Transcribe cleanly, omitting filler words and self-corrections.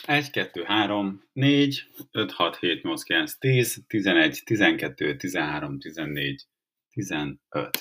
1, 2, 3, 4, 5, 6, 7, 8, 9, 10, 11, 12, 13, 14, 15.